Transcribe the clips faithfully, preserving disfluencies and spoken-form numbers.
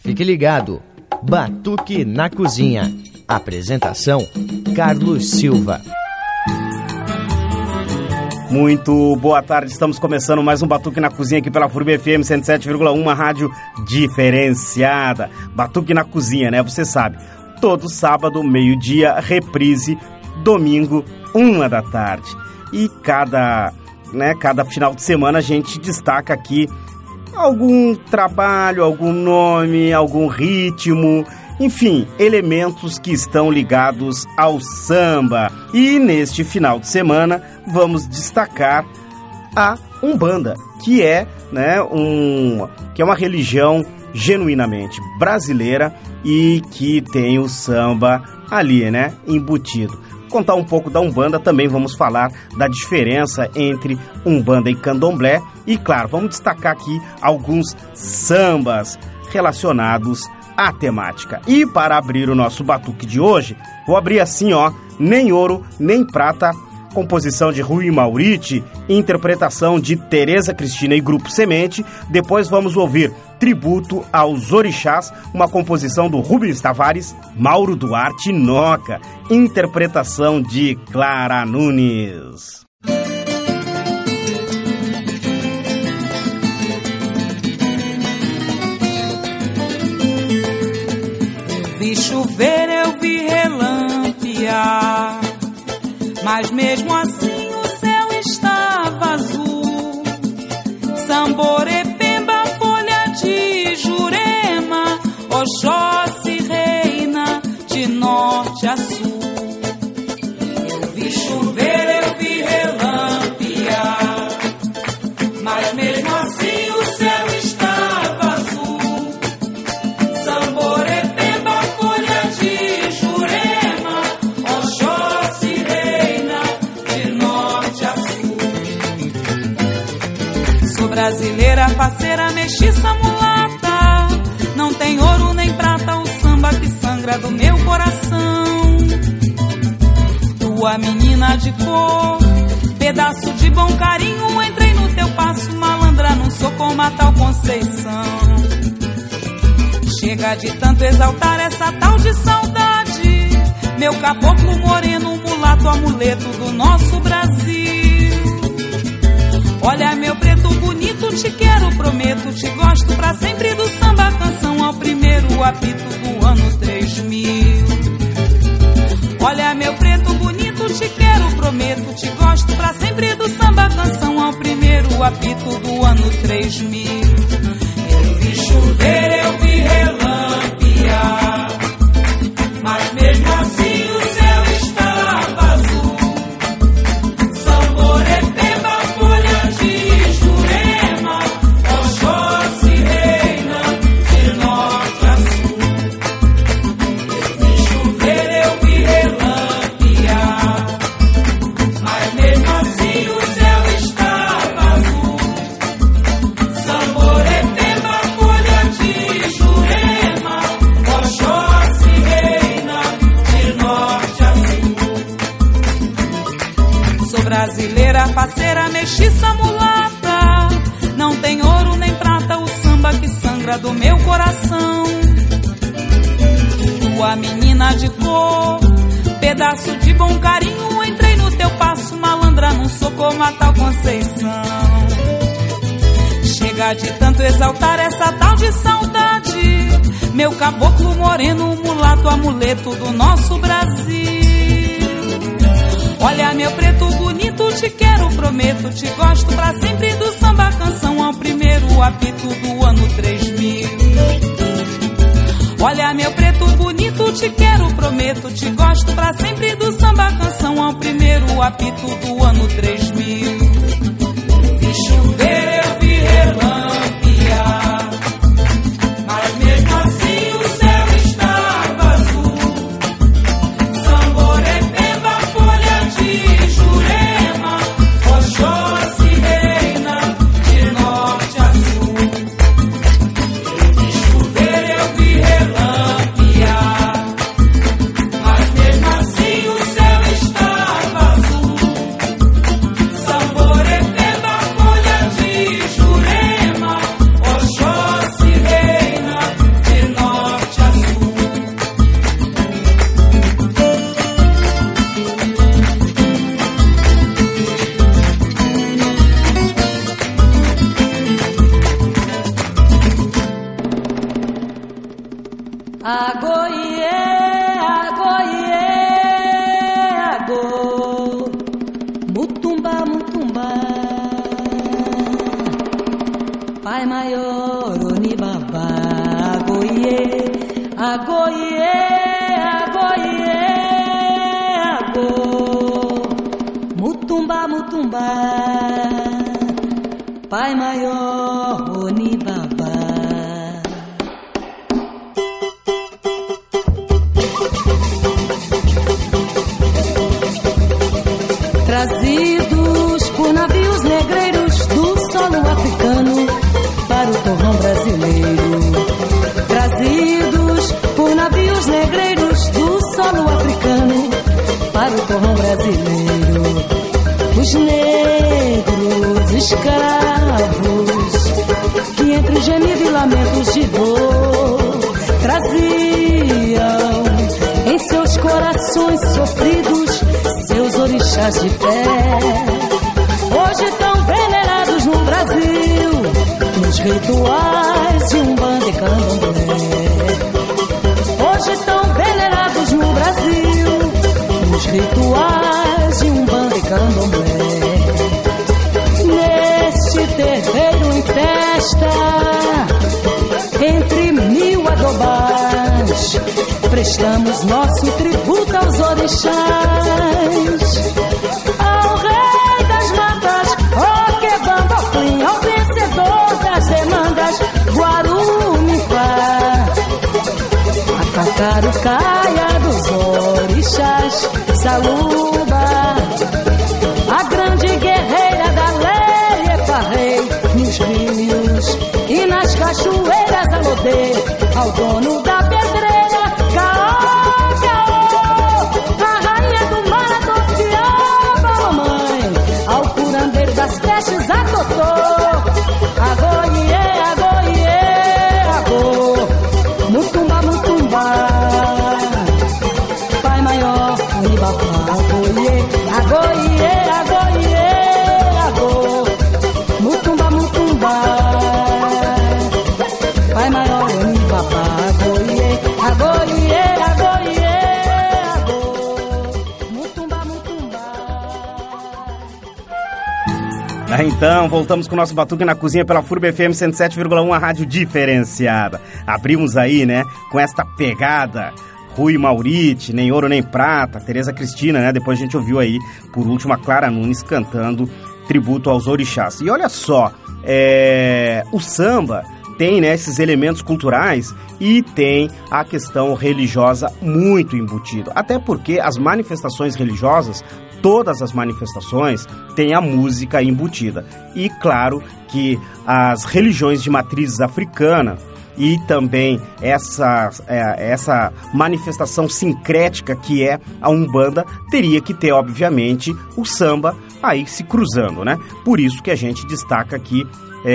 Fique ligado. Batuque na Cozinha. Apresentação: Carlos Silva. Muito boa tarde, estamos começando mais um Batuque na Cozinha aqui pela F U R B F M cento e sete vírgula um, uma rádio diferenciada. Batuque na Cozinha, né? Você sabe, todo sábado, meio-dia, reprise, domingo, uma da tarde. E cada, né, cada final de semana a gente destaca aqui algum trabalho, algum nome, algum ritmo, enfim, elementos que estão ligados ao samba. E neste final de semana vamos destacar a Umbanda, que é, né, um, que é uma religião genuinamente brasileira e que tem o samba ali, né, embutido. Contar um pouco da Umbanda, também vamos falar da diferença entre Umbanda e Candomblé e, claro, vamos destacar aqui alguns sambas relacionados à temática. E para abrir o nosso batuque de hoje, vou abrir assim, ó, Nem Ouro, Nem Prata, composição de Rui Mauriti, interpretação de Tereza Cristina e Grupo Semente. Depois vamos ouvir Tributo aos Orixás, uma composição do Rubens Tavares, Mauro Duarte Noca, interpretação de Clara Nunes. Eu vi chover, eu vi relampear, mas mesmo assim o céu estava azul. Samborepemba, folha de Jurema, Oxóssi reina de norte a sul. Eu vi chover, eu vi relampear, mas mesmo assim o céu estava azul. Samborepemba, folha de Jurema, Oxóssi reina de norte a sul. Sou brasileira, parceira, mestiça, mulata, não tem ouro nem prata, o samba que sangra do meu coração. Tua menina de cor, pedaço de bom carinho, entrei no teu passo, malandra, não sou como a tal Conceição. Chega de tanto exaltar essa tal de saudade, meu caboclo moreno, mulato, amuleto do nosso Brasil. Olha meu preto bonito, te quero, prometo, te gosto pra sempre do samba canção ao primeiro apito do ano três mil. Olha meu preto bonito, te quero, prometo, te gosto pra sempre do samba canção ao primeiro apito do ano três mil. Eu vi chover, eu vi relampear, mas mesmo assim o céu estava azul. Samborepemba, folha de Jurema, Oxóssi reina de norte a sul. Eu vi chover, eu vi relampear, mas mesmo assim o céu estava azul. Samborepemba, folha de Jurema, Oxóssi reina de norte a sul. Sou brasileira, parceira, mestiça, mulata, não tem ouro nem prata, o samba que sangra do meu coração. Tua menina de cor, pedaço de bom carinho, entrei no teu passo, malandra, não sou como a tal Conceição. Chega de tanto exaltar essa tal de saudade, meu caboclo moreno, mulato, amuleto do nosso Brasil. Olha meu preto bonito, te quero, prometo, te gosto pra sempre do samba canção ao primeiro apito do ano três mil. Olha meu preto bonito, te quero, prometo, te gosto pra sempre do samba canção ao primeiro apito do ano três mil. Vi chover, eu vi relampear, mas mesmo assim o céu estava azul. Samborepemba, folha de Jurema, Oxóssi reina de norte a sul. Eu vi chover, eu vi relampear, mas mesmo assim o céu estava azul. Agoie, agoie, ago, mutumba, mutumba, pai maior, onibaba, agoie, agoie, agoie, ago, mutumba, mutumba, pai maior, onibaba. Trazidos por navios negreiros do solo africano para o torrão brasileiro. Trazidos por navios negreiros do solo africano para o torrão brasileiro. Os negros escravos que entre gemido e lamentos de dor traziam em seus corações sofridos seus orixás de fé, hoje tão venerados no Brasil, nos rituais de Umbanda e Candomblé. Hoje tão venerados no Brasil, nos rituais de Umbanda e Candomblé. Neste terreiro em festa, entre mil adobás, prestamos nosso tributo aos orixás, ao rei das matas, ó Quebamba Oflim, ao vencedor das demandas, Guarumifá, a Cacarucaia dos orixás, Saluba, a grande guerreira da Lélia Rei, nos rios e nas cachoeiras alodê, ao dono da pedreira, Caô, Caô, a rainha do mar, a Tofiaba, mamãe, ao curandeiro das pestes, a Totô, agoie, agoie, agô, mutumba, mutumba, pai maior, unibabá, agoie, agoie, agoie, agô, mutumba, mutumba, pai maior, unibabá, agoie, agoie, agoie, agô, mutumba, mutumba. Ah, então, voltamos com o nosso Batuque na Cozinha pela F U R B F M cento e sete vírgula um, a rádio diferenciada. Abrimos aí, né, com esta pegada, Rui Mauriti, Nem Ouro Nem Prata, Tereza Cristina, né, depois a gente ouviu aí, por último, a Clara Nunes cantando tributo aos orixás. E olha só, é... o samba tem, né, esses elementos culturais e tem a questão religiosa muito embutida. Até porque as manifestações religiosas, todas as manifestações, têm a música embutida. E claro que as religiões de matrizes africana e também essa, é, essa manifestação sincrética que é a Umbanda, teria que ter, obviamente, o samba aí se cruzando, né? Por isso que a gente destaca aqui...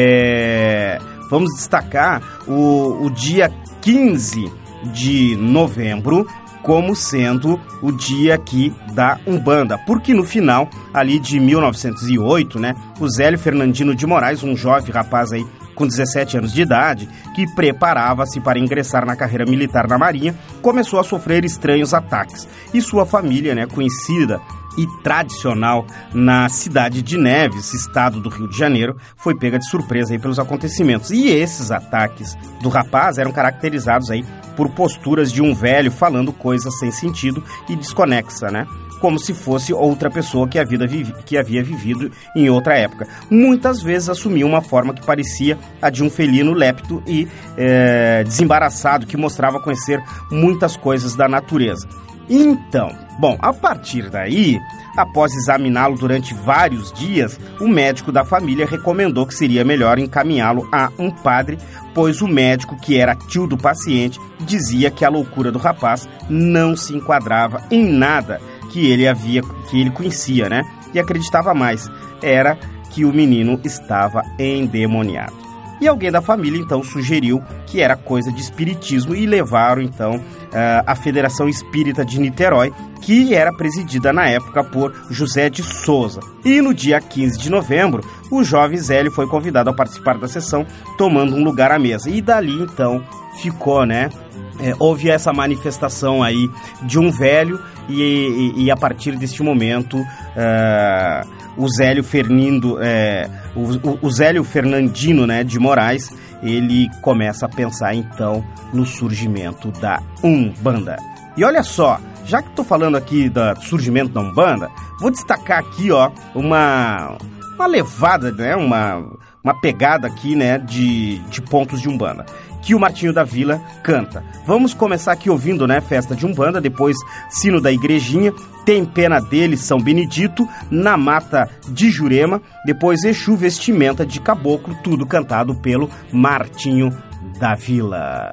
É... Vamos destacar o, o dia quinze de novembro como sendo o dia aqui da Umbanda, porque no final, ali de mil novecentos e oito, né, o Zélio Fernandino de Moraes, um jovem rapaz aí com dezessete anos de idade, que preparava-se para ingressar na carreira militar na Marinha, começou a sofrer estranhos ataques. E sua família, né, conhecida e tradicional na cidade de Neves, estado do Rio de Janeiro, foi pega de surpresa aí pelos acontecimentos. E esses ataques do rapaz eram caracterizados aí por posturas de um velho falando coisas sem sentido e desconexa, né? Como se fosse outra pessoa que, a vida vivi- que havia vivido em outra época. Muitas vezes assumia uma forma que parecia a de um felino lépido e é, desembaraçado, que mostrava conhecer muitas coisas da natureza. Então, bom, a partir daí, após examiná-lo durante vários dias, o médico da família recomendou que seria melhor encaminhá-lo a um padre, pois o médico, que era tio do paciente, dizia que a loucura do rapaz não se enquadrava em nada que ele havia, que ele conhecia, né? E acreditava mais, era que o menino estava endemoniado. E alguém da família, então, sugeriu que era coisa de espiritismo e levaram, então, a Federação Espírita de Niterói, que era presidida na época por José de Souza. E no dia quinze de novembro, o jovem Zélio foi convidado a participar da sessão, tomando um lugar à mesa. E dali, então, ficou, né, É, houve essa manifestação aí de um velho e, e, e a partir deste momento uh, o Zélio Fernindo, é, o, o Zélio Fernandino, né, de Moraes, ele começa a pensar então no surgimento da Umbanda. E olha só, já que estou falando aqui do surgimento da Umbanda, vou destacar aqui, ó, uma, uma levada, né, uma, uma pegada aqui, né, de, de pontos de Umbanda que o Martinho da Vila canta. Vamos começar aqui ouvindo, né, Festa de Umbanda, depois Sino da Igrejinha, Tem Pena Dele, São Benedito, Na Mata de Jurema, depois Exu Vestimenta de Caboclo, tudo cantado pelo Martinho da Vila.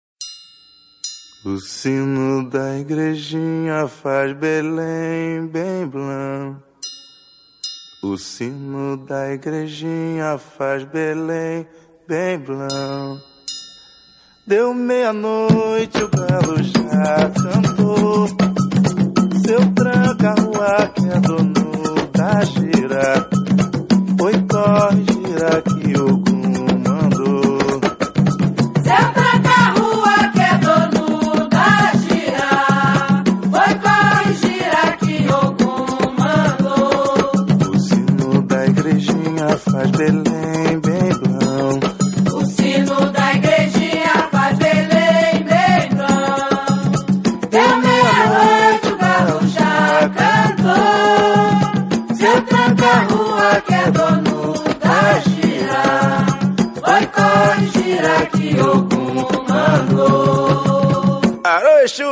O sino da igrejinha faz Belém bem blanc. O sino da igrejinha faz Belém bem blanc. Deu meia-noite, o galo já cantou. Seu tranca-rua que é dono da gira. Oi, corre, gira que Ogum mandou. Seu tranca-rua que é dono da gira. Oi, corre, gira que Ogum mandou. O sino da igrejinha faz Belém bem blanc. O sino da igrejinha faz Belém bem blanc. Deu meia-noite, o galo já cantou. Seu tranca-rua que é dono da gira. Oi, corre, gira que Ogum mandou. Alô, Exu!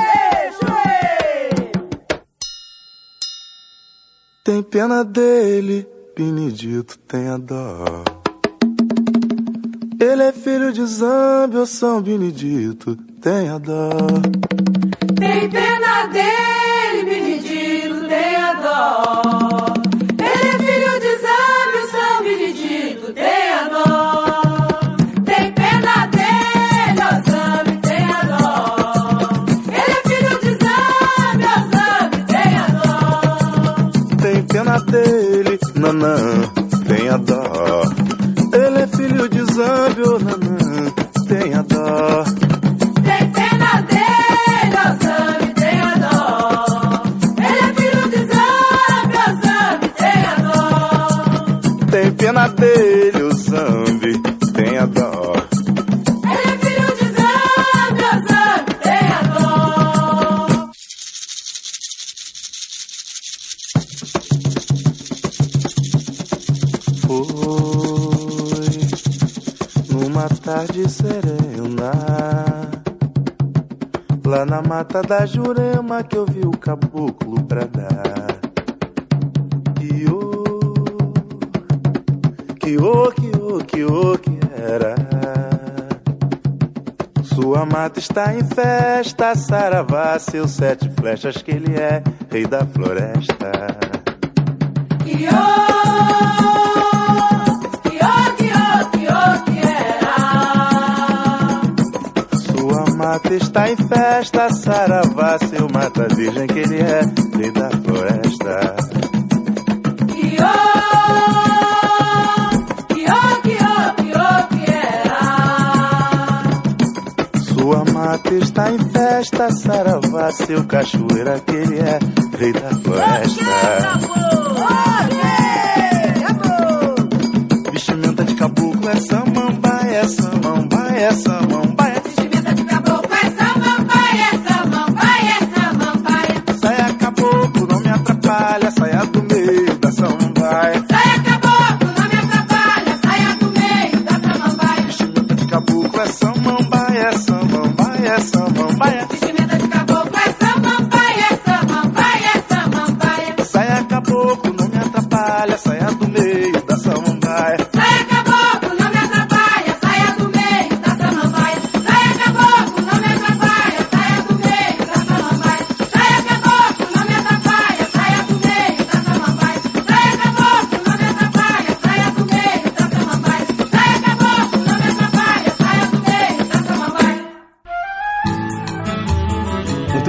Tem pena dele, Benedito tenha dó. Ele é filho de Zambi, ô São Benedito tenha dó. Tem pena dele, Benedito, tenha dó. Ele é filho de Zambi, São Benedito, tenha dó. Tem pena dele, ó Zambi, tenha dó. Ele é filho de Zambi, ó Zambi, tenha dó. Tem pena dele, Nanã tenha dó. Ele é filho de Zambi, ô Nanã tenha dó. Tem pena dele, ó Zambi, tenha dó. Ele é filho de Zambi, ó Zambi, tenha dó. Tem pena dele, o Zambi tenha dó. Ele é filho de Zambi, ó Zambi, tenha dó. Foi numa tarde serena, lá na mata da Jurema, que eu vi o caboclo bradar. Que ô, que ô, que ô, que ô, que era. Sua mata está em festa, saravá, seus sete flechas, que ele é rei da floresta. Que ô, que ô, que ô, que ô, que era. Sua mata está em festa, saravá, seu mata virgem, que ele é rei da floresta. Que ô, que ô, que ô, que ô, que era. Sua mata está em festa, saravá, seu cachoeira, que ele é rei da floresta. Vestimenta de caboclo é samambaia, é samambaia, é samambaia. Vestimenta de caboclo é samambaia, é samambaia, é samambaia. Saia caboclo, não me atrapalha, saia do meio da samambaia. Saia caboclo, não me atrapalha, saia do meio da samambaia. Vestimenta de caboclo é samambaia, é samambaia, é samambaia. Vestimenta de caboclo é samambaia, é samambaia, é samambaia. Saia caboclo, não me atrapalha, saia do meio da samambaia. Saia caboclo, não me atrapalha.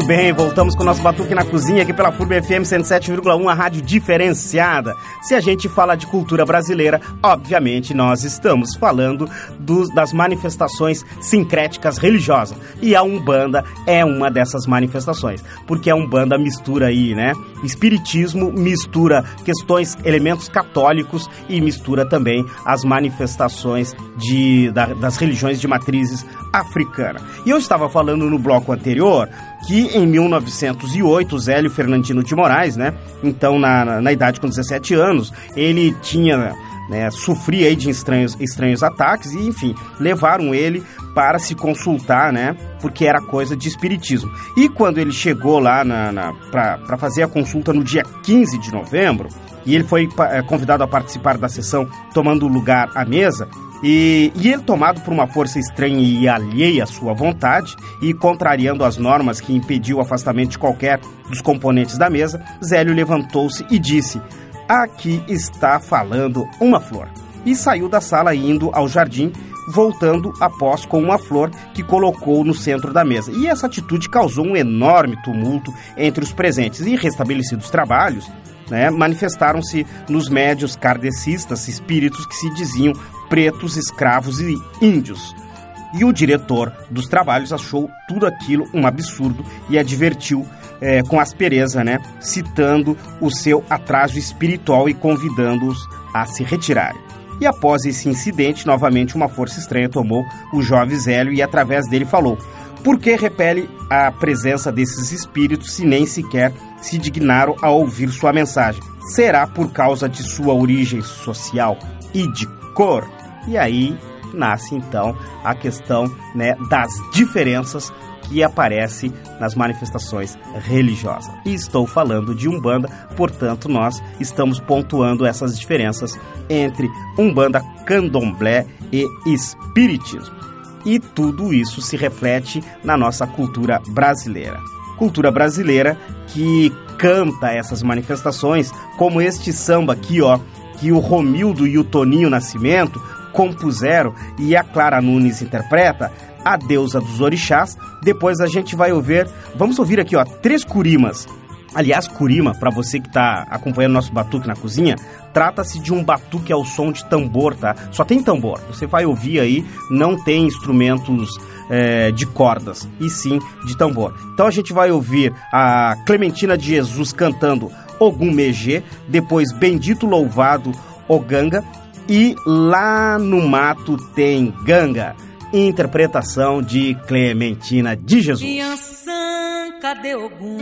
Muito bem, voltamos com o nosso Batuque na Cozinha aqui pela F U R B F M cento e sete vírgula um, a rádio diferenciada. Se a gente fala de cultura brasileira, obviamente nós estamos falando do, das manifestações sincréticas religiosas. E a Umbanda é uma dessas manifestações, porque a Umbanda mistura aí, né? Espiritismo, mistura questões, elementos católicos e mistura também as manifestações de, da, das religiões de matrizes africana. E eu estava falando no bloco anterior que em mil novecentos e oito, Zélio Fernandino de Moraes, né, então na, na, na idade com dezessete anos, ele tinha, né, sofria aí de estranhos, estranhos ataques e, enfim, levaram ele para se consultar, né, porque era coisa de espiritismo. E quando ele chegou lá na, na, para fazer a consulta no dia quinze de novembro, e ele foi é, convidado a participar da sessão tomando lugar à mesa, E, e ele, tomado por uma força estranha e alheia à sua vontade, e contrariando as normas que impediu o afastamento de qualquer dos componentes da mesa, Zélio levantou-se e disse: "Aqui está falando uma flor." E saiu da sala indo ao jardim, voltando após com uma flor que colocou no centro da mesa. E essa atitude causou um enorme tumulto entre os presentes. E restabelecidos trabalhos, né, manifestaram-se nos médios kardecistas espíritos que se diziam pretos, escravos e índios. E o diretor dos trabalhos achou tudo aquilo um absurdo e advertiu é, com aspereza, né, citando o seu atraso espiritual e convidando-os a se retirarem. E após esse incidente, novamente uma força estranha tomou o jovem Zélio e através dele falou: "Por que repele a presença desses espíritos se nem sequer se dignaram a ouvir sua mensagem? Será por causa de sua origem social e de cor?" E aí nasce então a questão, né, das diferenças que aparece nas manifestações religiosas. E estou falando de Umbanda, portanto nós estamos pontuando essas diferenças entre Umbanda, Candomblé e Espiritismo. E tudo isso se reflete na nossa cultura brasileira. Cultura brasileira que canta essas manifestações, como este samba aqui, ó, que o Romildo e o Toninho Nascimento compuseram e a Clara Nunes interpreta, A Deusa dos Orixás. Depois a gente vai ouvir, vamos ouvir aqui, ó, três curimas. Aliás, curima, para você que está acompanhando nosso Batuque na Cozinha, trata-se de um batuque ao som de tambor, tá? Só tem tambor, você vai ouvir aí, não tem instrumentos é, de cordas, e sim de tambor. Então a gente vai ouvir a Clementina de Jesus cantando Ogum Megê, depois Bendito Louvado Oganga, e Lá no Mato Tem Ganga, interpretação de Clementina de Jesus. Inhansã, cadê Ogum?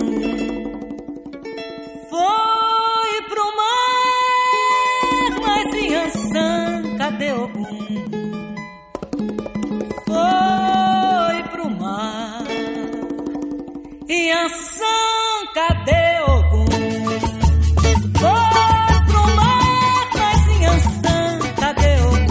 Foi pro mar, mas Inhansã, cadê Ogum? Foi pro mar. Inhansã, cadê Ogum? Foi pro mar, mas Inhansã, cadê Ogum?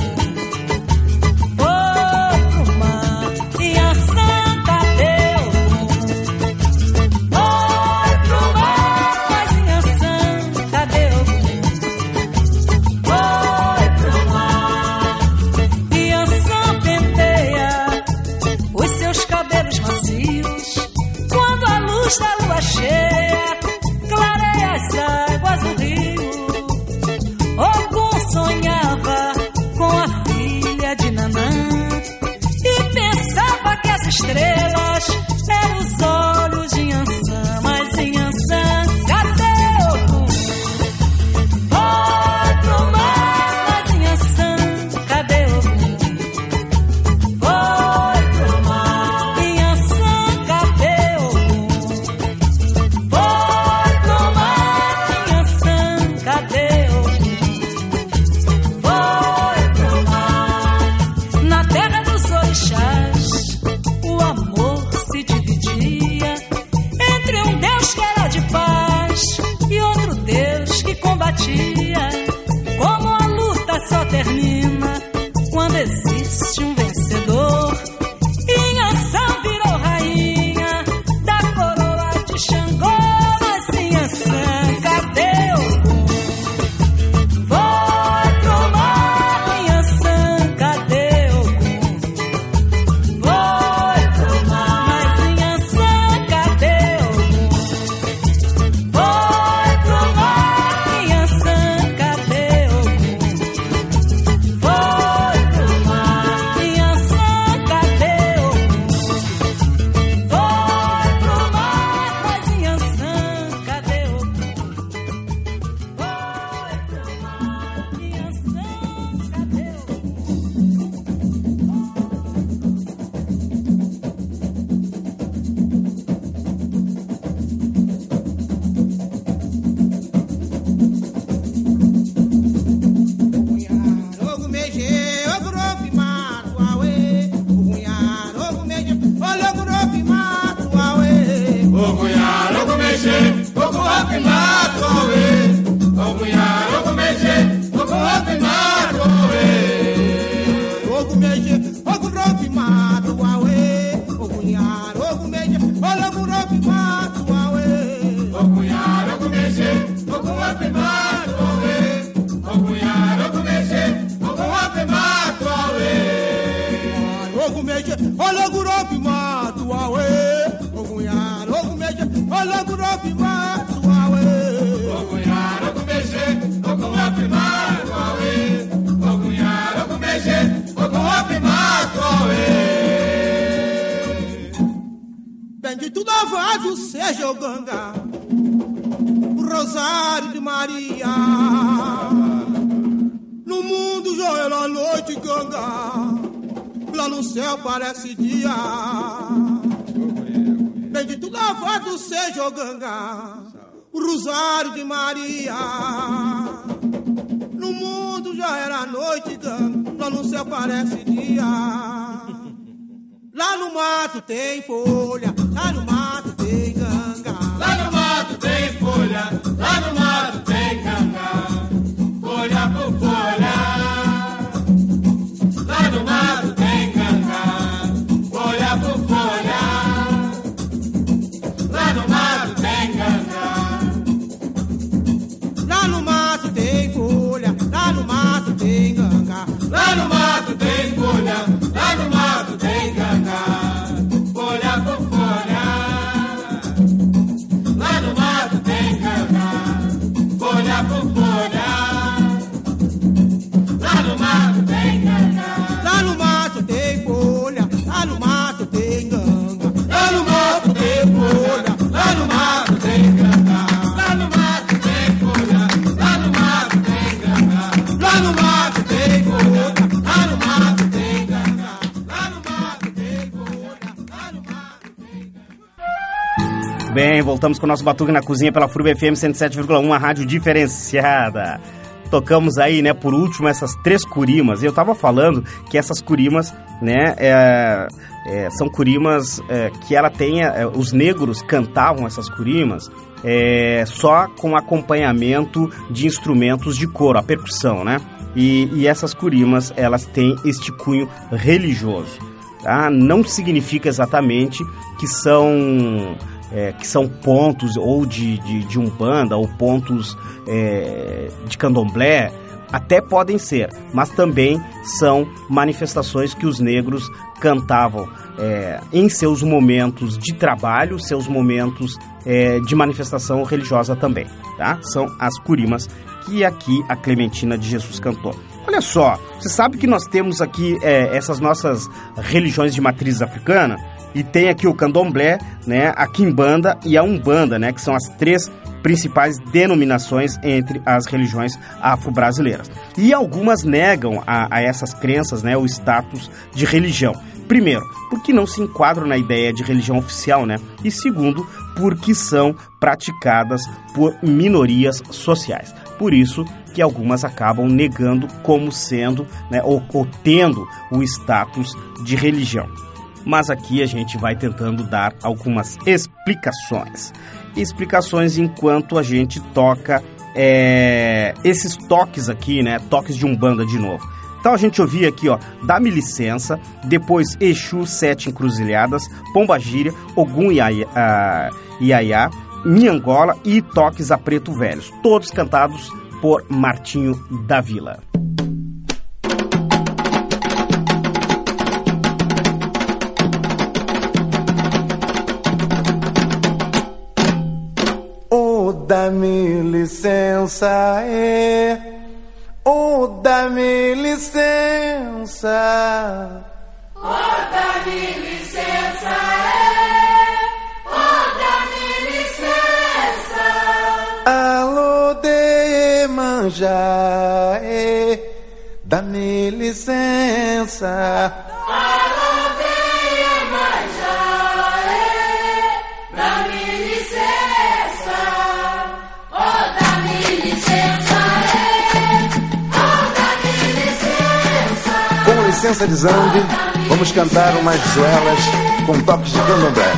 Foi pro mar. Inhansã, cadê Ogum? Foi pro mar, mas Inhansã, cadê Ogum? Foi pro mar. Inhansã penteia os seus cabelos macios quando a luz da lua cheia clareia as águas do rio. Ogum sonhava com a filha de Nanã e pensava que as estrelas eram os olhos de Inhansã. Mas Inhansã, cadê Ogum? Foi pro mar, mas Inhansã, cadê Ogum? Foi pro mar. Inhansã, cunhar, o gumeje, o laguropi mato awe. O cunhar, o gumeje, o guape mato awe. O cunhar, o gumeje, o guape mato awe. O gumeje, o laguropi mato awe. O cunhar, o gumeje, o laguropi mato awe. O cunhar, o gumeje, o guape mato awe. O cunhar, o gumeje, o guape mato awe. Bendito louvado seja o Ganga, o Rosário de Maria. No mundo joelho à noite, Ganga, lá no céu parece dia. Bendito louvado seja o Ganga, o Rosário de Maria. No mundo já era noite, Ganga, lá no céu parece dia. Lá no mato tem folha, lá no mato tem ganga. Lá no mato tem folha, lá no mato tem ganga. Folha por folha. Lá no mato tem ganga. Folha por folha. Lá no mato tem ganga. Lá no mato tem folha, lá no mato tem ganga. Lá no mato tem folha, lá no mato tem ganga. Folha por folha. Lá no mato tem ganga. Folha por folha. Lá no mato tem ganga. Lá no mato tem folha, lá no mato tem ganga. Lá no mato tem folha, lá no mato tem ganga. Lá no mato tem folha, lá no mato tem ganga. Lá no mato tem folha, lá no mato tem ganga. Lá no mato tem folha, lá no mato tem ganga. Bem, voltamos com o nosso Batuque na Cozinha pela F U R B F M cento e sete vírgula um, a rádio diferenciada. Tocamos aí, né, por último, essas três curimas. E eu tava falando que essas curimas, né, é, é, são curimas é, que ela tem... É, os negros cantavam essas curimas é, só com acompanhamento de instrumentos de coro, a percussão, né? E, e essas curimas, elas têm este cunho religioso, tá? Não significa exatamente que são... É, que são pontos ou de, de, de umbanda ou pontos é, de candomblé, até podem ser, mas também são manifestações que os negros cantavam é, em seus momentos de trabalho, seus momentos é, de manifestação religiosa também, tá? São as curimas que aqui a Clementina de Jesus cantou. Olha só, você sabe que nós temos aqui é, essas nossas religiões de matriz africana. E tem aqui o candomblé, né, a quimbanda e a umbanda, né, que são as três principais denominações entre as religiões afro-brasileiras. E algumas negam a, a essas crenças, né, o status de religião. Primeiro, porque não se enquadram na ideia de religião oficial, né? E segundo, porque são praticadas por minorias sociais. Por isso que algumas acabam negando como sendo, né, ou, ou tendo o status de religião. Mas aqui a gente vai tentando dar algumas explicações. Explicações enquanto a gente toca é, esses toques aqui, né? Toques de umbanda de novo. Então a gente ouvia aqui, ó, Dá-me Licença, depois Exu, Sete Encruzilhadas, Pombagíria, Ogum Iaiá, Iaiá, Minhangola e Toques a Preto Velhos. Todos cantados por Martinho da Vila. Dá-me licença, é, oh, dá-me licença. Oh, dá-me licença, é, oh, dá-me licença. Alô, de manja, é, dá-me licença. Alô, de manja, é, dá-me licença. Com licença de Zambi, vamos cantar umas zoelas com toques de candomblé.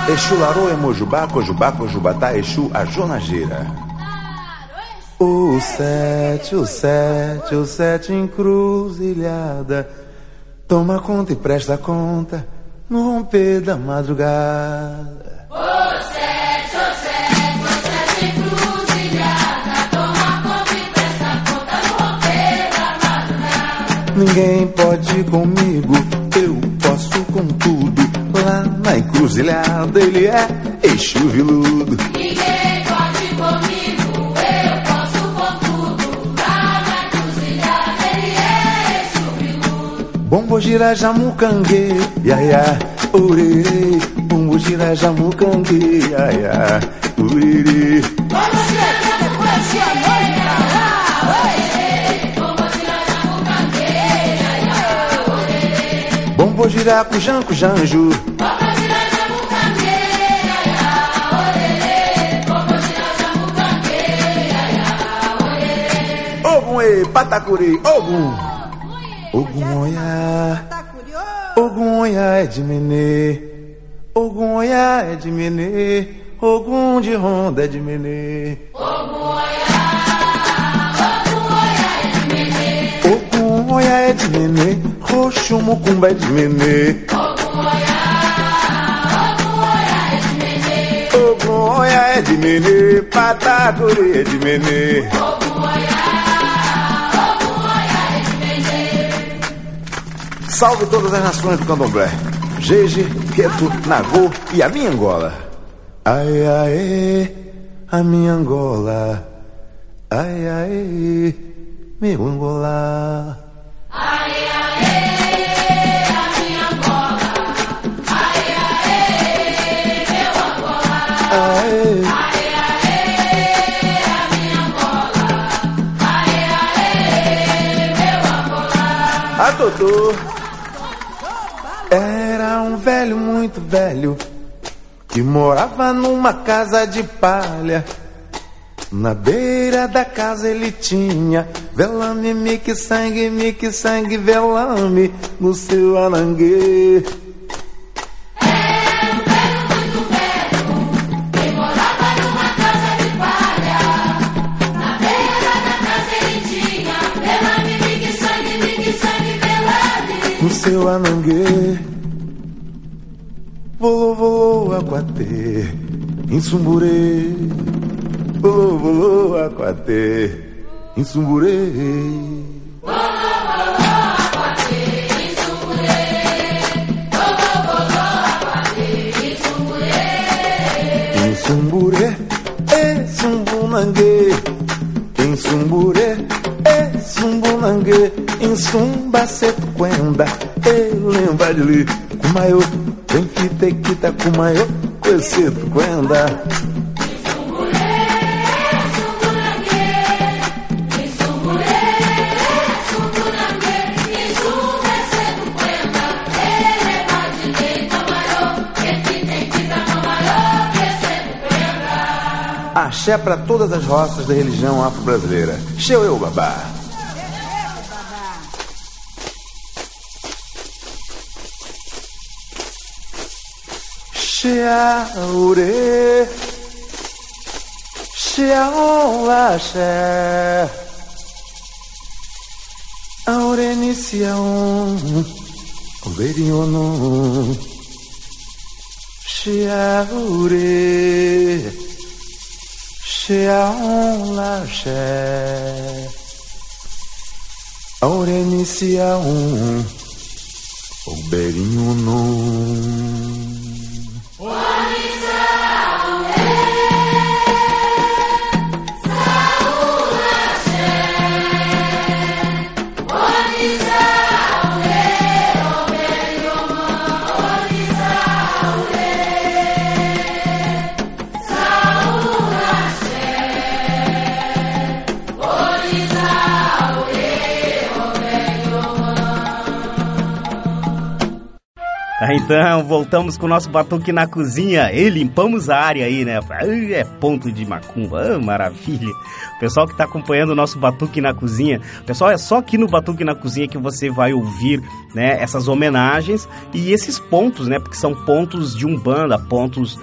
Exu Larô, Emojubá, Cojubá, Cojubatá, Exu, a Jonageira. O sete, o sete, o sete encruzilhada. Toma conta e presta conta no romper da madrugada. O sete, o sete, o sete encruzilhada. Toma conta e presta conta no romper da madrugada. Ninguém pode ir comigo, eu posso com tudo. Lá na encruzilhada ele é Exu Viludo. Ninguém pode ir comigo, eu posso com tudo. Lá na encruzilhada ele é Exu Viludo. Bombo gira jamucangue, iaia, orerê. Bombo gira jamucangue, iaia, orerê. Vamos chegar depois de a noite pra lá, orerê. Vamos tirar jamucangue, iaia, orerê. Bombo gira cujan, cujanjo. Vamos tirar jamucangue, iaia, orerê. Vamos tirar jamucangue, iaia, orerê. Ogum e patacuri, ogum. Ogum oia, ogum oia é de menê. Ogum oia é de menê. Ogum de ronda é de menê. Ogum oia, ogum oia é de menê. Ogum oia é de menê. Roxo mucumba é de menê. Ogum oia, ogum oia é de menê. Ogum oia é de menê. Patacuri é de menê. Ogum oia, ogum oia é de menê. Salve todas as nações do candomblé. Jeje, Queto, Nagô e a minha Angola. Ai, ai, a minha Angola. Ai, ai, meu Angola. Ai, ai, a minha Angola. Ai, ai, meu Angola. Ai, Ai, ai, a minha Angola. Ai, ai, meu Angola. a Totô. Era um velho muito velho que morava numa casa de palha. Na beira da casa ele tinha velame, mique, sangue, mique, sangue, velame no seu anangue. Era um velho muito velho que morava numa casa de palha. Na beira da casa ele tinha velame, mique, sangue, mique, sangue, velame. No seu anangue, volou, volou, aquatê, em Sumburê. Volou, volou, aquatê, em Sumburê. Em Sumburê, é Sumbunangue. Em Sumburê, é Sumbunangue. Em Sumbaceto, Quenda, é lembra de li. Kumaiô, vem fitequita, Kumaiô, Coeceto, Quenda. Axé para todas as roças da religião afro-brasileira. Xeu eu, babá. Xeaure, xeaolaxé, aureniciaon, overionon, xeaure, xeaolaxé, aureniciaon, overionon. Tá Então, voltamos com o nosso Batuque na Cozinha e limpamos a área aí, né? É ponto de macumba, ah, maravilha. Pessoal que está acompanhando o nosso Batuque na Cozinha, pessoal, é só aqui no Batuque na Cozinha que você vai ouvir, né, essas homenagens e esses pontos, né? Porque são pontos de umbanda, pontos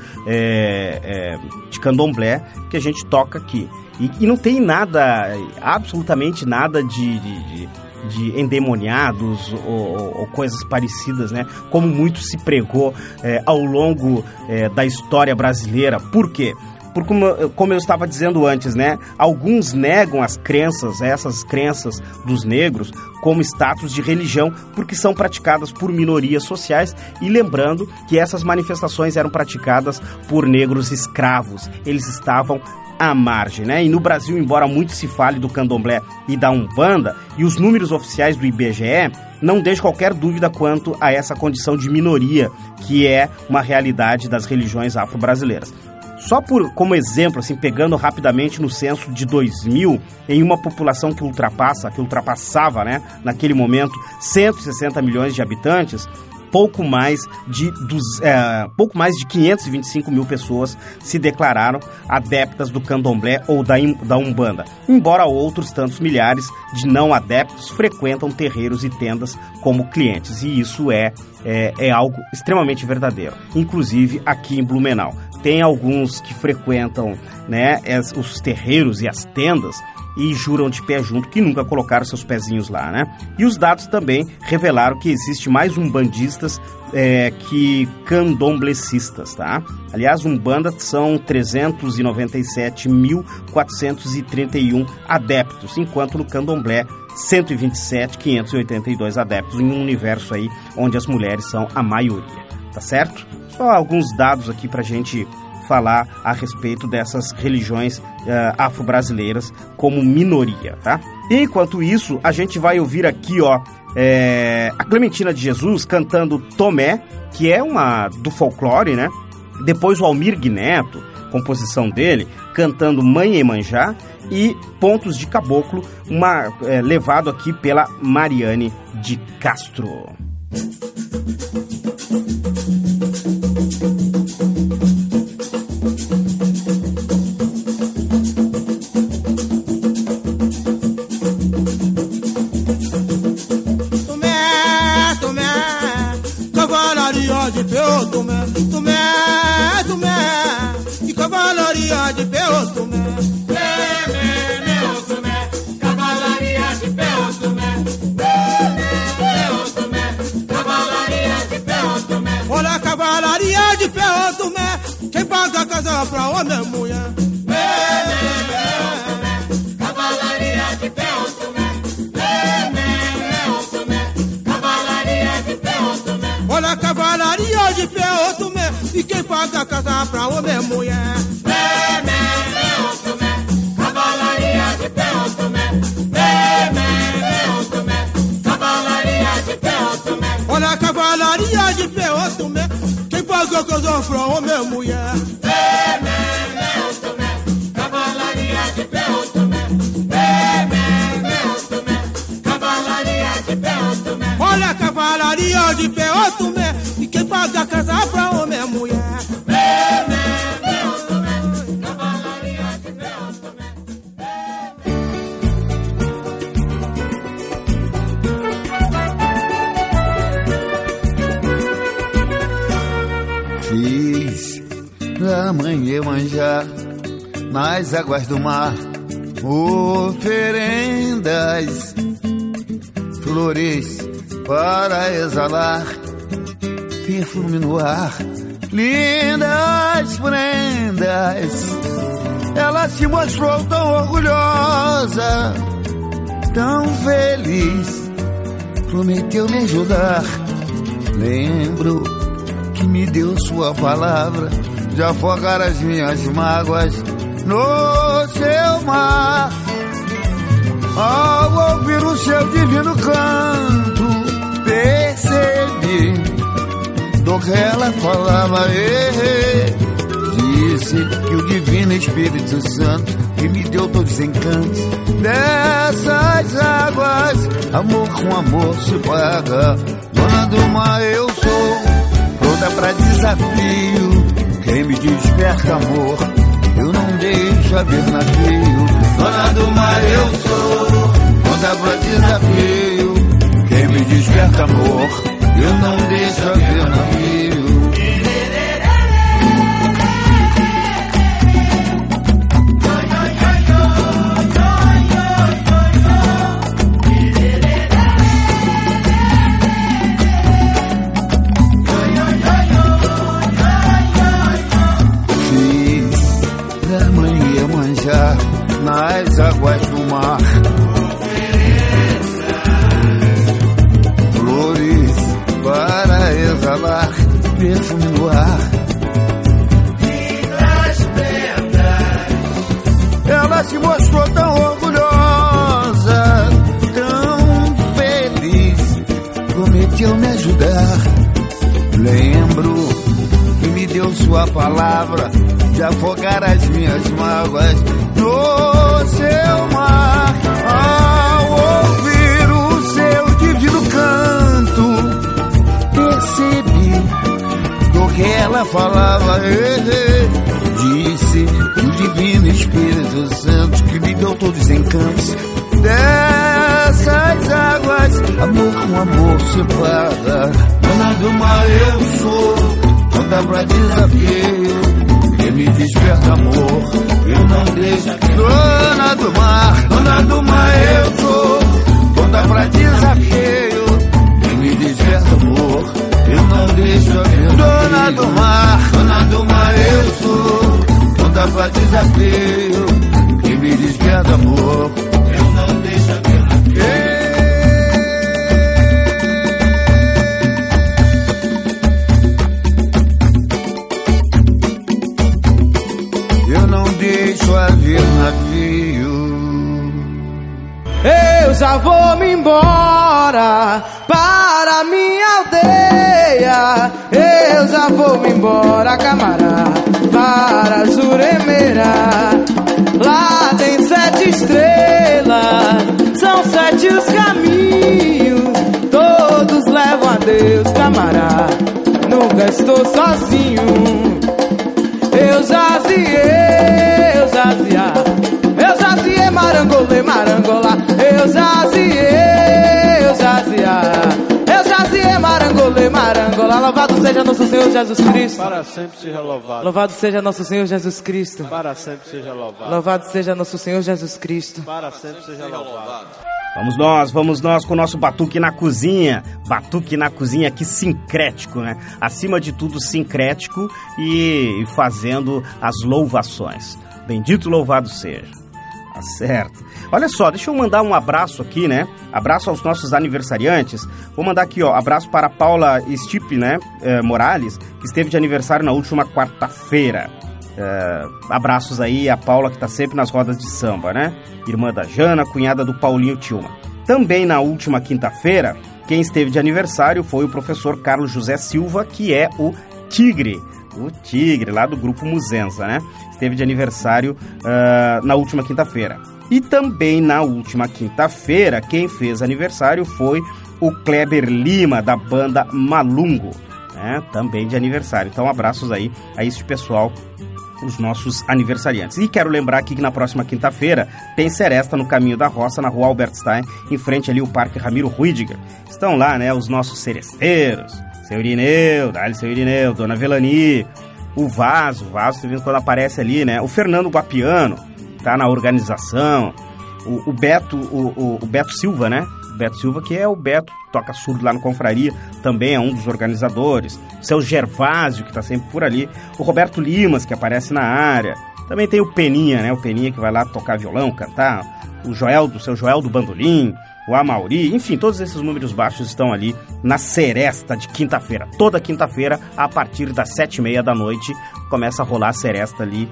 é, é, de candomblé que a gente toca aqui. E, e não tem nada, absolutamente nada de... de, de de endemoniados ou, ou, ou coisas parecidas, né? Como muito se pregou é, ao longo é, da história brasileira. Por quê? Porque, como, como eu estava dizendo antes, né? Alguns negam as crenças, essas crenças dos negros, como status de religião, porque são praticadas por minorias sociais. E lembrando que essas manifestações eram praticadas por negros escravos. Eles estavam à margem, né? E no Brasil, embora muito se fale do candomblé e da umbanda, e os números oficiais do I B G E não deixam qualquer dúvida quanto a essa condição de minoria, que é uma realidade das religiões afro-brasileiras. Só por, como exemplo, assim, pegando rapidamente no censo de dois mil, em uma população que ultrapassa, que ultrapassava, né, naquele momento, cento e sessenta milhões de habitantes, pouco mais de, dos, é, pouco mais de quinhentos e vinte e cinco mil pessoas se declararam adeptas do candomblé ou da, da umbanda, embora outros tantos milhares de não adeptos frequentam terreiros e tendas como clientes, e isso é, é, é algo extremamente verdadeiro, inclusive aqui em Blumenau. Tem alguns que frequentam, né, os terreiros e as tendas e juram de pé junto que nunca colocaram seus pezinhos lá, né? E os dados também revelaram que existe mais umbandistas é, que candomblecistas, tá? Aliás, Umbanda são trezentos e noventa e sete mil quatrocentos e trinta e um adeptos, enquanto no candomblé cento e vinte e sete mil quinhentos e oitenta e dois adeptos, em um universo aí onde as mulheres são a maioria, tá certo? Só alguns dados aqui pra gente falar a respeito dessas religiões uh, afro-brasileiras como minoria, tá? Enquanto isso, a gente vai ouvir aqui, ó, é, a Clementina de Jesus cantando Tomé, que é uma do folclore, né? Depois o Almir Neto, composição dele, cantando Mãe Emanjá, e Pontos de Caboclo, uma, é, levado aqui pela Mariane de Castro. De peu, Tomé, Tomé, Tomé, e cavalaria de peu, Tomé. Meu Tomé, cavalaria de peu, Tomé. Meu Tomé, cavalaria de peu, Tomé. Olha a cavalaria de peu, Tomé, quem paga a casa pra homem é mulher. Meu Tomé, cavalaria de peu, Tomé. Meu Tomé, cavalaria de peu, Tomé. Olha a cavalaria de pé, Tomé, e quem paga a casa pra homem é mulher. Mé, mé, mé, Tomé, cavalaria de pé, Tomé. Mé, mé, mé, Tomé, cavalaria de pé, Tomé. Olha a cavalaria de pé, Tomé, quem paga a casa pra homem é mulher. Mé, mé, mé, Tomé, cavalaria de pé, Tomé. Mé, mé, mé, Tomé, cavalaria de pé, Tomé. Olha a cavalaria de pé, Tomé, e quem paga a casa pra homem é mulher. Mé, mé, mé, Tomé, cavalaria de pé, Tomé. Fiz da mãe Iemanjá nas águas do mar oferendas, flores para exalar perfume no ar, lindas prendas. Ela se mostrou tão orgulhosa, tão feliz, prometeu me ajudar. Lembro que me deu sua palavra de afogar as minhas mágoas no seu mar. Ao ouvir o seu divino canto, percebi do que ela falava. E disse que o divino Espírito Santo que me deu todos os encantos dessas águas. Amor com amor se paga, dona do mar eu sou, conta pra desafio. Quem me desperta amor, eu não deixo haver navio. Dona do mar eu sou, conta pra desafio. Quem me desperta amor, eu não deixo haver navio. Nas águas do mar, flores para exalar perfume no ar. Lindas prendas, ela se mostrou tão orgulhosa, tão feliz, prometeu me ajudar. Lembro que me deu sua palavra de afogar as minhas mágoas no seu mar. Ao ouvir o seu divino canto, percebi do que ela falava. Disse que o divino Espírito Santo que me deu todos os encantos dessas águas, amor com amor separa. Dona do mar eu sou, conta pra desafio. Quem me desperta amor, eu não deixo. Dona do mar, dona do mar eu sou, conta pra desafio. Quem me desperta amor, eu não deixo. Dona do mar, dona do mar eu sou, conta pra desafio. Quem me desperta amor, eu não deixo a ver. Deixo haver navio. Eu já vou me embora para minha aldeia. Eu já vou me embora, camará, para Juremeira. Lá tem sete estrelas, são sete os caminhos, todos levam a Deus, camará. Nunca estou sozinho. Eu jazia, eu jazia, eu jazia, marangolê, marangolá. Eu jazia, eu jazia, eu jazia, marangolê, marangolá. Louvado seja nosso Senhor Jesus Cristo. Para sempre seja louvado. Louvado seja nosso Senhor Jesus Cristo. Para sempre seja louvado. Louvado seja nosso Senhor Jesus Cristo. Para sempre seja louvado. Vamos nós, vamos nós com o nosso Batuque na Cozinha. Batuque na Cozinha aqui sincrético, né? Acima de tudo sincrético e fazendo as louvações. Bendito louvado seja. Tá certo. Olha só, deixa eu mandar um abraço aqui, né? Abraço aos nossos aniversariantes. Vou mandar aqui, ó, abraço para a Paula Stipe, né? Eh, Morales, que esteve de aniversário na última quarta-feira. Uh, abraços aí a Paula, que tá sempre nas rodas de samba, né? Irmã da Jana, cunhada do Paulinho Tilma. Também na última quinta-feira, quem esteve de aniversário foi o professor Carlos José Silva, que é o Tigre, o Tigre, lá do Grupo Muzenza, né? Esteve de aniversário uh, na última quinta-feira. E também na última quinta-feira, quem fez aniversário foi o Kleber Lima, da banda Malungo, né? Também de aniversário. Então, abraços aí a este pessoal, os nossos aniversariantes. E quero lembrar aqui que na próxima quinta-feira tem seresta no Caminho da Roça, na rua Albert Stein, em frente ali o Parque Ramiro Ruidiger. Estão lá, né, os nossos seresteiros, seu Irineu, dá-lhe seu Irineu, Dona Velani, o Vaso, o Vaso, você vê quando aparece ali, né, o Fernando Guapiano, tá na organização, o, o Beto, o, o, o Beto Silva, né, Beto Silva, que é o Beto, que toca surdo lá no Confraria, também é um dos organizadores. O seu Gervásio, que está sempre por ali. O Roberto Limas, que aparece na área. Também tem o Peninha, né? O Peninha que vai lá tocar violão, cantar. O Joel, do seu Joel do Bandolim. O Amauri. Enfim, todos esses números baixos estão ali na seresta de quinta-feira. Toda quinta-feira, a partir das sete e meia da noite, começa a rolar a seresta ali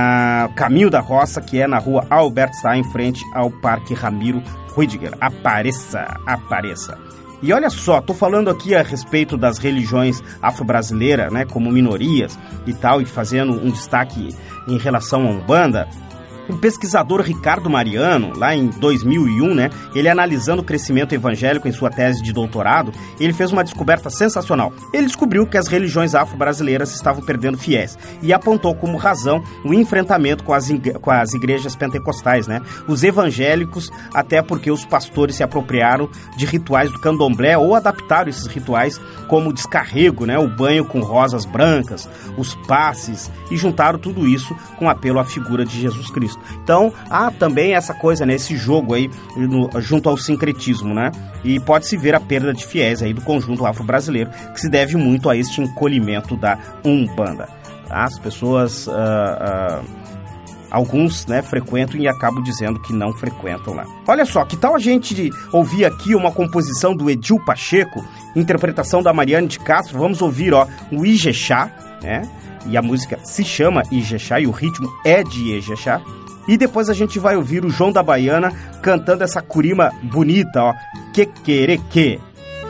na Caminho da Roça, que é na rua Albert Stein, em frente ao Parque Ramiro Ruidiger. Apareça, apareça. E olha só, tô falando aqui a respeito das religiões afro-brasileiras, né, como minorias e tal, e fazendo um destaque em relação à Umbanda. O pesquisador Ricardo Mariano, lá em dois mil e um, né, ele analisando o crescimento evangélico em sua tese de doutorado, ele fez uma descoberta sensacional. Ele descobriu que as religiões afro-brasileiras estavam perdendo fiéis e apontou como razão o enfrentamento com as, com as igrejas pentecostais, né? Os evangélicos, até porque os pastores se apropriaram de rituais do candomblé ou adaptaram esses rituais como o descarrego, né? O banho com rosas brancas, os passes, e juntaram tudo isso com apelo à figura de Jesus Cristo. Então, há também essa coisa, né? Esse jogo aí no, junto ao sincretismo, né? E pode-se ver a perda de fiéis aí do conjunto afro-brasileiro, que se deve muito a este encolhimento da Umbanda. Tá? As pessoas... Uh, uh, Alguns, né, frequentam e acabam dizendo que não frequentam lá. Olha só, que tal a gente ouvir aqui uma composição do Edil Pacheco, interpretação da Mariane de Castro. Vamos ouvir, ó, o Ijexá, né? E a música se chama Ijexá e o ritmo é de Ijexá. E depois a gente vai ouvir o João da Baiana cantando essa curima bonita, ó, Quequereque.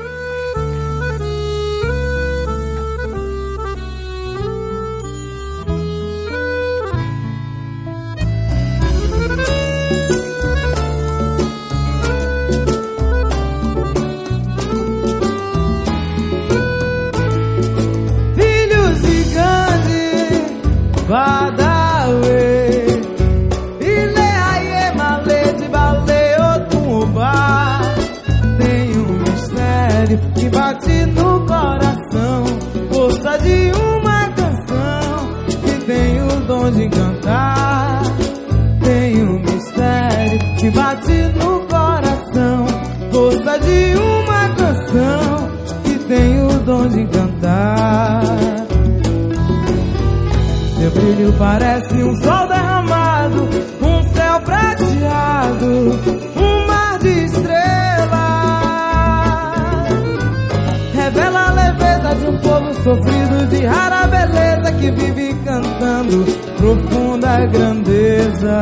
Badawe, ile aie male de baleo tumba. Tem um mistério que bate no coração, força de uma canção que tem o dom de cantar. Tem um mistério que bate no coração, força de uma canção que tem o dom de cantar. Seu brilho parece um sol derramado, um céu prateado, um mar de estrelas. Revela a leveza de um povo sofrido, de rara beleza, que vive cantando profunda grandeza.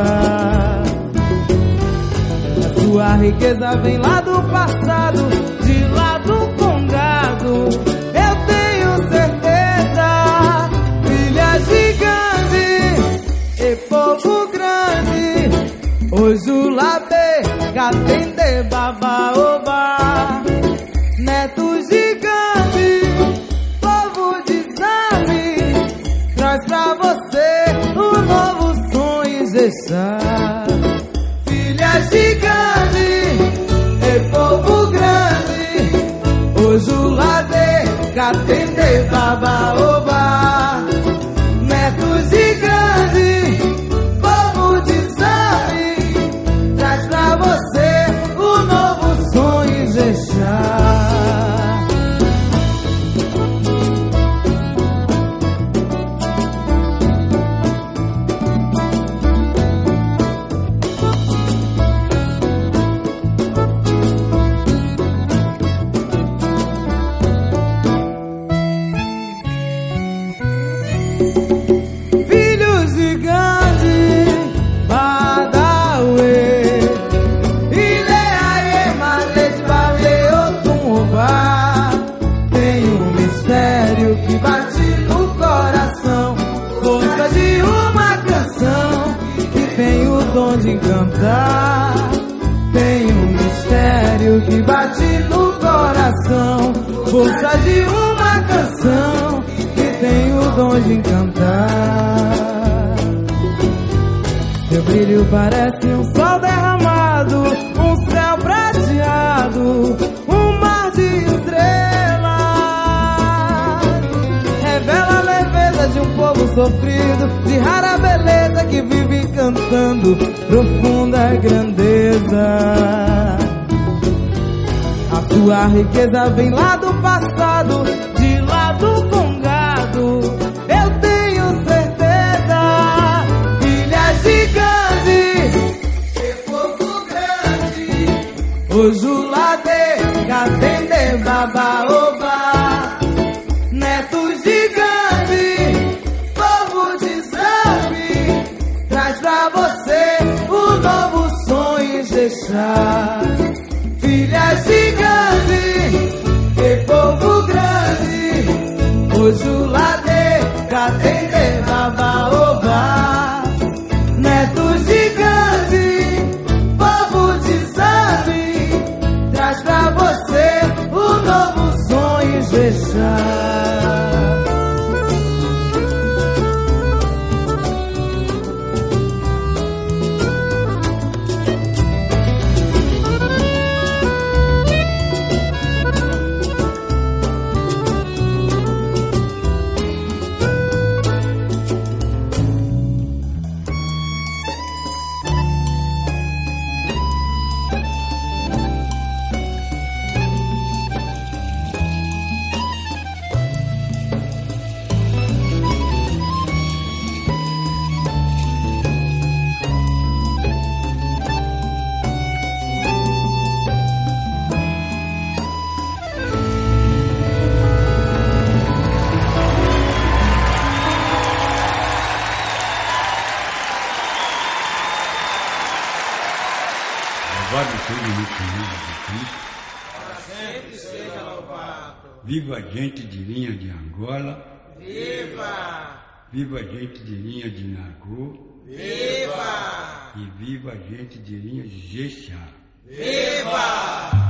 A sua riqueza vem lá do passado, de lá do Congado. Eu tenho certeza, filha gigante e povo grande, Ojulabe, Catende, Babaoba, neto gigante, povo de Zami, traz pra você um novo sonho, Ijexá. Filha gigante e povo grande, Ojulabe, Catende, Babaoba, neto gigante, povo de Zami, traz pra você o novo sonho, Ijexá. De cantar, tem um mistério que bate no coração, força de uma canção que tem o dom de cantar. Seu brilho parece um sol derramado, um céu prateado, um mar de estrelas. Revela a leveza de um povo sofrido, de rara beleza, que vive cantando profunda grandeza. A sua riqueza vem lá do passado, de lá do Congado. Eu tenho certeza, filha gigante e povo grande, Ojulabe, Catende, Babaoba, neto gigante, povo de Zami, traz pra você o novo sonho, Ijexá. Filha gigante e povo grande, Ojulabe, Catende, Babaoba, neto gigante, deixar. Viva a gente de linha de Angola. Viva! Viva a gente de linha de Nagô. Viva! E viva a gente de linha de Jexá. Viva!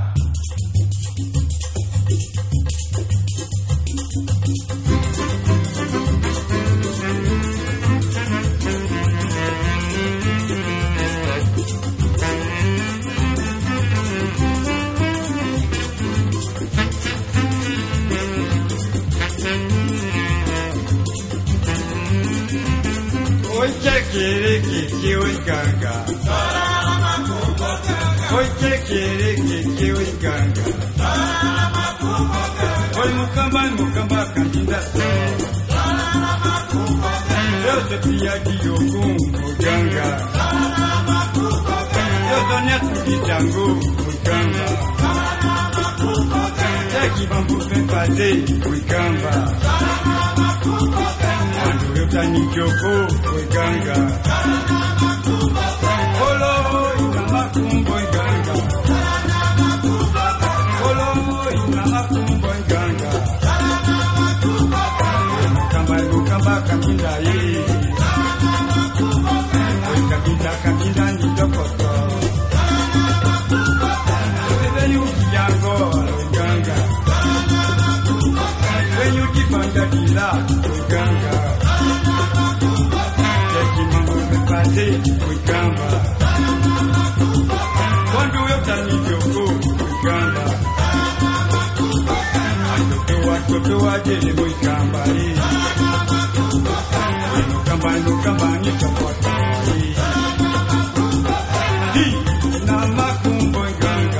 Oi, tchequereque, oi, ganga. Oi, tchequereque, oi, ganga. Oi, mucamba, mucamba, candida só. Eu sou filha de Ogum, o ganga. Eu sou neto de Django, o ganga. É que vamos vem fazer, o gamba. Quando eu tenho que eu vou, oi, ganga. Olo, ina macumbo, oi, ganga. Olo, ina macumbo, oi, ganga. Mukamba, mukamba, kaminda, ye. Oi, kaminda, kaminda, ni dokoto. Oi, venho de Angola, oi, ganga. Venho de banda de lá, oi, ganga. Fui gamba. Quando eu tenho que eu vou, fui gamba. Acho que eu tô a dele, fui gamba. No gamba, no gamba, ni chapota. Na macumbo ganga.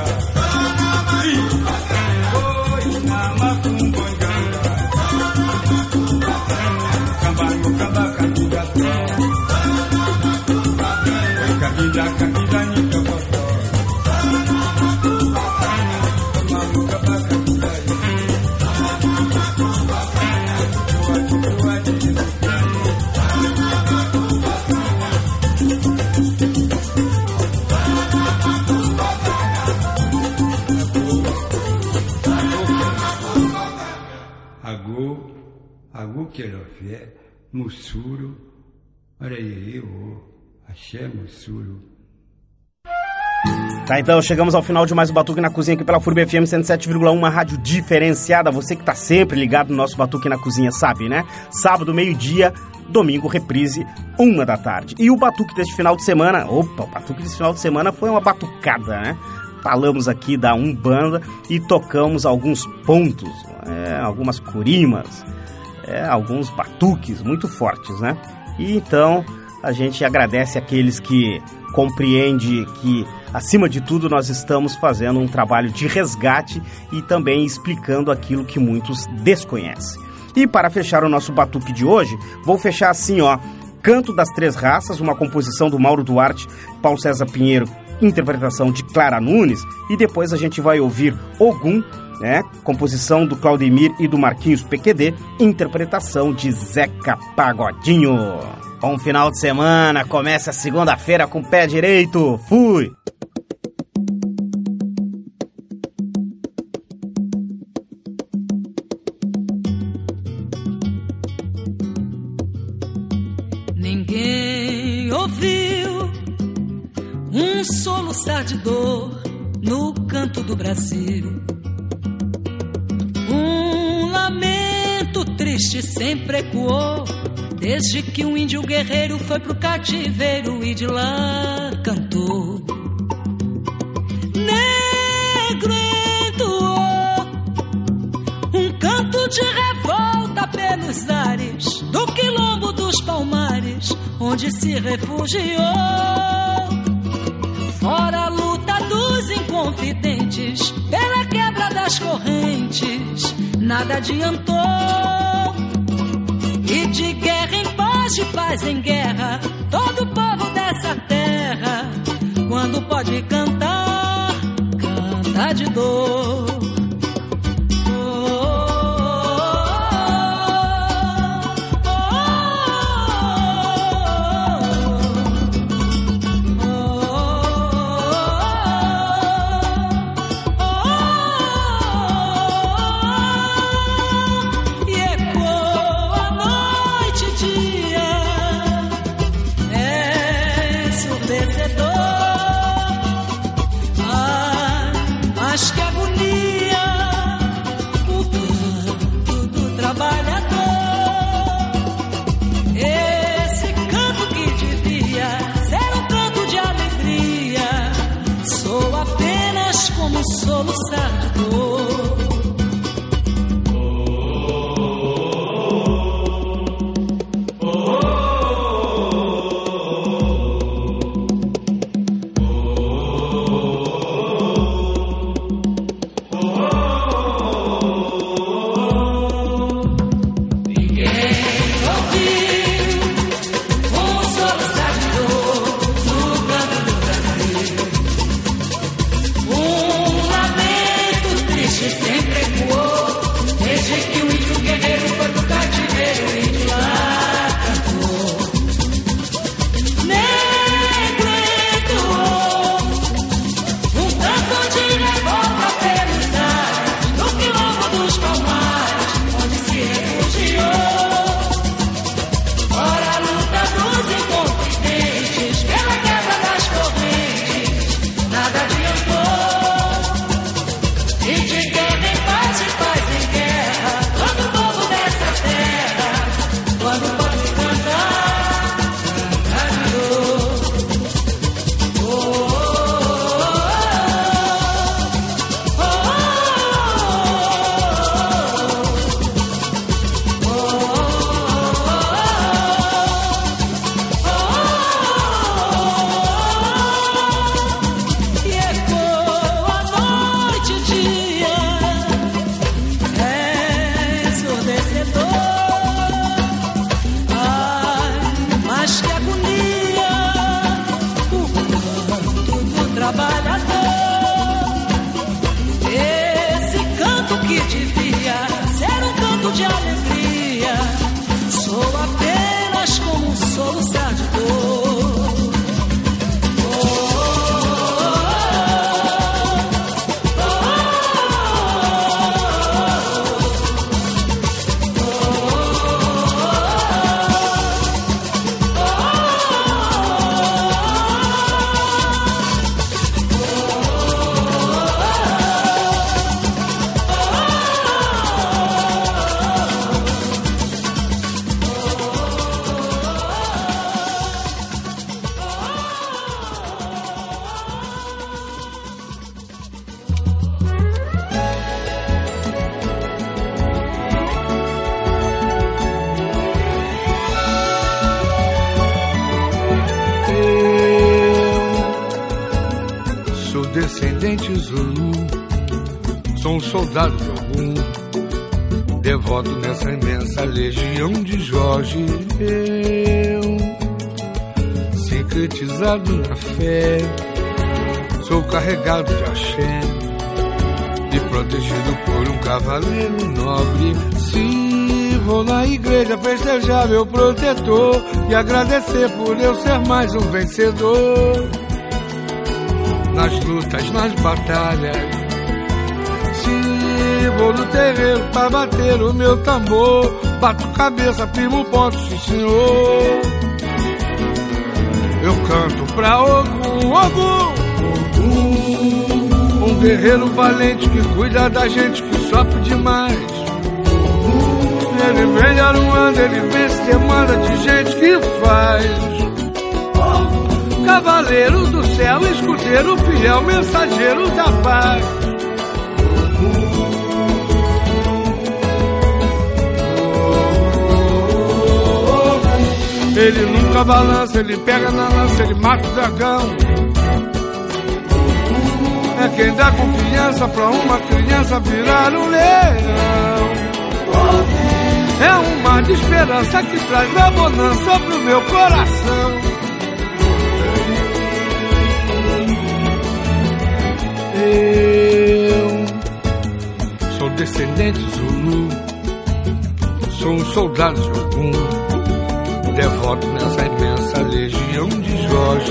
Oi, na macumbo ganga. Gamba, no gamba, candida. Kabila, kabila, ni tokoto. Mamu kaba kabila. Agô, agô querofé, mussuro, areia, axé, mussuro. Tá, então chegamos ao final de mais um Batuque na Cozinha aqui pela F U R B F M cento e sete vírgula um, uma rádio diferenciada. Você que tá sempre ligado no nosso Batuque na Cozinha sabe, né? Sábado, meio-dia, domingo, reprise, uma da tarde. E o Batuque deste final de semana, opa, o Batuque deste final de semana foi uma batucada, né? Falamos aqui da Umbanda e tocamos alguns pontos, é, algumas curimas, é, alguns batuques muito fortes, né? E então a gente agradece aqueles que compreendem que, acima de tudo, nós estamos fazendo um trabalho de resgate e também explicando aquilo que muitos desconhecem. E para fechar o nosso batuque de hoje, vou fechar assim, ó, Canto das Três Raças, uma composição do Mauro Duarte, Paulo César Pinheiro, interpretação de Clara Nunes, e depois a gente vai ouvir Ogum, né, composição do Claudemir e do Marquinhos P Q D, interpretação de Zeca Pagodinho. Bom final de semana, começa segunda-feira com o pé direito, fui! Ninguém ouviu um soluçar de dor no canto do Brasil, um lamento triste sempre ecoou, desde que um índio guerreiro foi pro cativeiro e de lá cantou. Negro entoou um canto de revolta pelos ares do quilombo dos Palmares, onde se refugiou. Fora a luta dos inconfidentes, pela quebra das correntes, nada adiantou. E de guerra em paz, de paz em guerra, todo povo dessa terra, quando pode cantar, canta de dor. Soluçar de dor. Descendente Zulu, sou um soldado de algum, devoto nessa imensa legião de Jorge. Eu, sincretizado na fé, sou carregado de axé e protegido por um cavaleiro nobre. Se vou na igreja festejar meu protetor e agradecer por eu ser mais um vencedor. Nas lutas, nas batalhas, se vou no terreiro pra bater o meu tambor, bato cabeça, firmo ponto, sim senhor. Eu canto pra Ogum, Ogum, Ogum, um guerreiro valente que cuida da gente que sofre demais. Ele vem de Aruanda, ele vem se demanda de gente que faz. Cavaleiro do céu, escudeiro fiel, mensageiro da paz. Ele nunca balança, ele pega na lança, ele mata o dragão. É quem dá confiança pra uma criança virar um leão. É um mar de esperança que traz a bonança pro meu coração. Eu sou descendente Zulu, sou um soldado de Ogum, devoto nessa imensa legião de Jorge.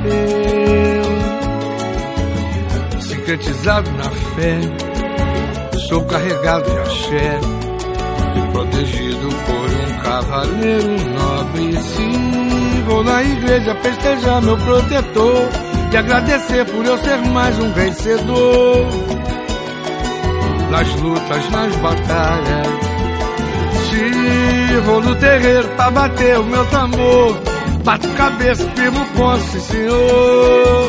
Eu, sincretizado na fé, sou carregado de axé, protegido por um cavaleiro nobre. Se vou na igreja festejar meu protetor e agradecer por eu ser mais um vencedor. Nas lutas, nas batalhas, se vou no terreiro pra bater o meu tambor, bato cabeça, firmo ponto, sim senhor.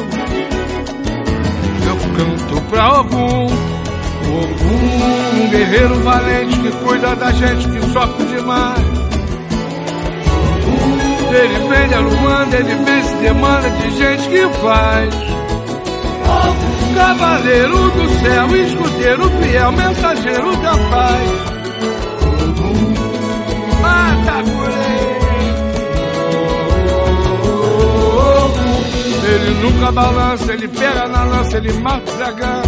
Eu canto pra Ogum, Ogum, um guerreiro valente que cuida da gente que sofre demais. Ele vem de Aruanda, ele vem se demanda de gente que faz. Cavaleiro do céu, escudeiro fiel, mensageiro da paz. Mata ele nunca balança, ele pega na lança, ele mata o dragão.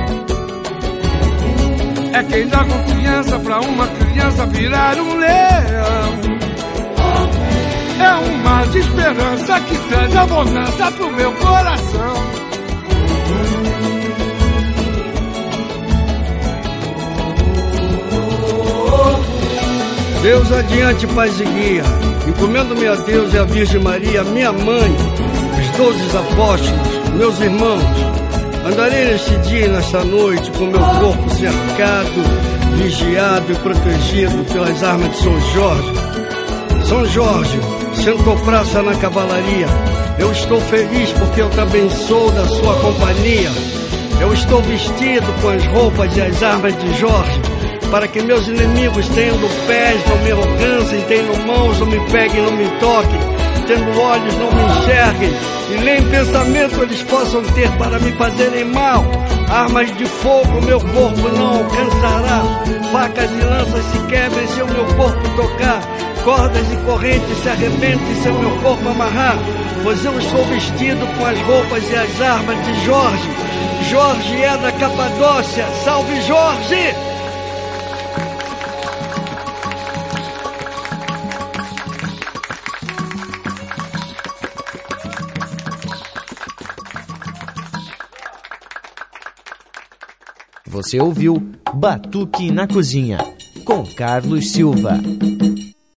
É quem dá confiança pra uma criança virar um leão. É um mar de esperança que traz a bonança pro meu coração. Deus adiante, paz e guia, encomendo-me a Deus e a Virgem Maria, minha mãe, os doze apóstolos, meus irmãos. Andarei neste dia e nesta noite com meu corpo cercado, vigiado e protegido pelas armas de São Jorge. São Jorge sentou praça na cavalaria. Eu estou feliz porque eu também sou da sua companhia. Eu estou vestido com as roupas e as armas de Jorge, para que meus inimigos, tendo pés, não me alcancem, tendo mãos, não me peguem, não me toquem, tendo olhos, não me enxerguem, e nem pensamento eles possam ter para me fazerem mal. Armas de fogo meu corpo não alcançará, facas e lanças se quebrem se o meu corpo tocar, cordas e correntes se arrebentem se o meu corpo amarrar, pois eu estou vestido com as roupas e as armas de Jorge. Jorge é da Capadócia, salve Jorge! Você ouviu Batuque na Cozinha, com Carlos Silva.